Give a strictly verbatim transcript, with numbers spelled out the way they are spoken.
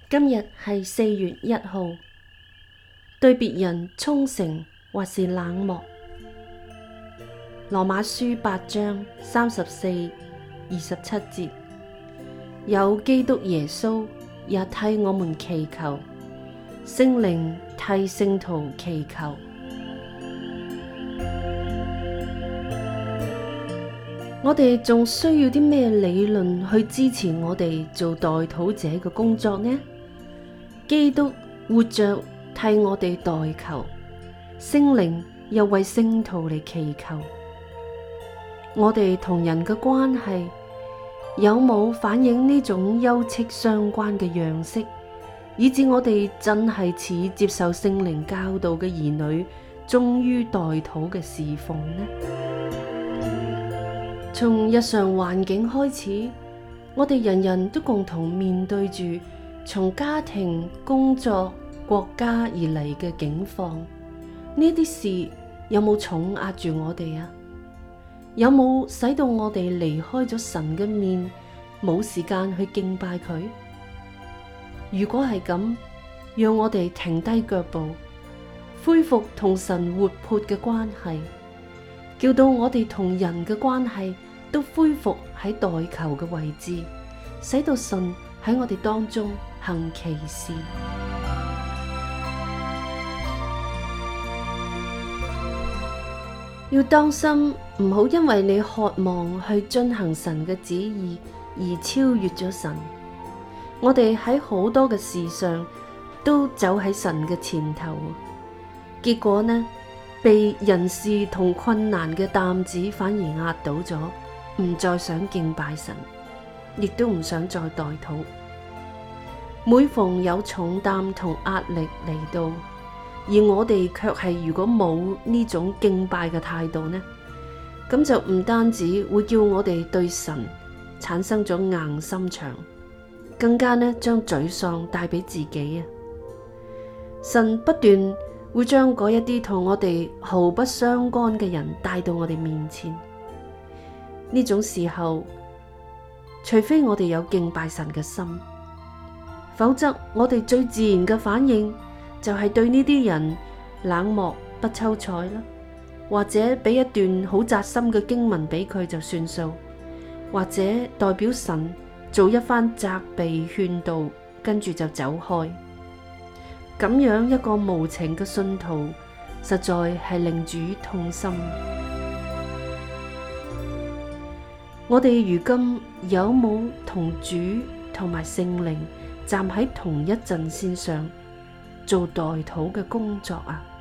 今日係四月一號，對別人忠誠或是冷漠。羅馬書八章三十四、二十七節，有基督耶穌也替我們祈求，聖靈替聖徒祈求。我哋仲需要啲咩理論去支持我哋做代禱者嘅工作呢？基督活着替我哋代求，聖靈又為聖徒嚟祈求。我哋同人嘅關係有冇反映呢種休戚相關嘅樣式，以致我哋真係似接受聖靈教導嘅兒女，忠於代禱嘅侍奉呢？從日常環境開始，我哋人人都共同面對住從家庭、工作、國家而嚟嘅境況。呢啲事有冇重壓住我哋啊？有冇使到我哋離開咗神嘅面，冇時間去敬拜佢？如果係咁，讓我哋停低腳步，恢復同神活潑嘅關係，叫到我哋同人嘅關係都恢復喺代求嘅位置，使到神喺我哋當中行奇事。要當心，唔好因為你渴望去遵行神嘅旨意而超越咗神。我哋喺好多嘅事上都走喺神嘅前頭，結果呢，被人事同困難嘅擔子反而壓倒咗，唔再想敬拜神，亦都唔想再代禱。每逢有重擔同壓力嚟到，而我哋卻係如果冇呢種敬拜嘅態度呢，咁就唔單止會叫我哋對神產生咗硬心腸，更加呢將沮喪帶俾自己啊！神不斷會將嗰一啲同我哋毫不相干嘅人帶到我哋面前。呢種時候，除非我哋有敬拜神嘅心，否則我哋最自然嘅反應就係對呢啲人冷漠不瞅睬啦，或者俾一段好扎心嘅經文俾佢就算數，或者代表神做一番責備勸導，跟住就走開。咁樣一個無情嘅信徒，實在係令主痛心。我哋如今有冇同主同埋聖靈站喺同一陣線上做代禱嘅工作啊？